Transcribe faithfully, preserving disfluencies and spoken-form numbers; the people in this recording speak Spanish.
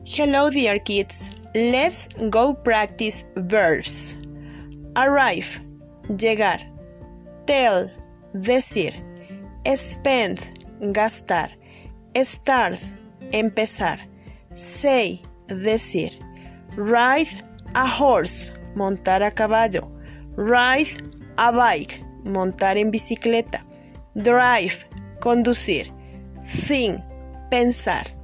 Hello dear kids, let's go practice verbs. Arrive, llegar. Tell, decir. Spend, gastar. Start, empezar. Say, decir. Ride a horse, montar a caballo. Ride a bike, montar en bicicleta. Drive, conducir. Think, pensar.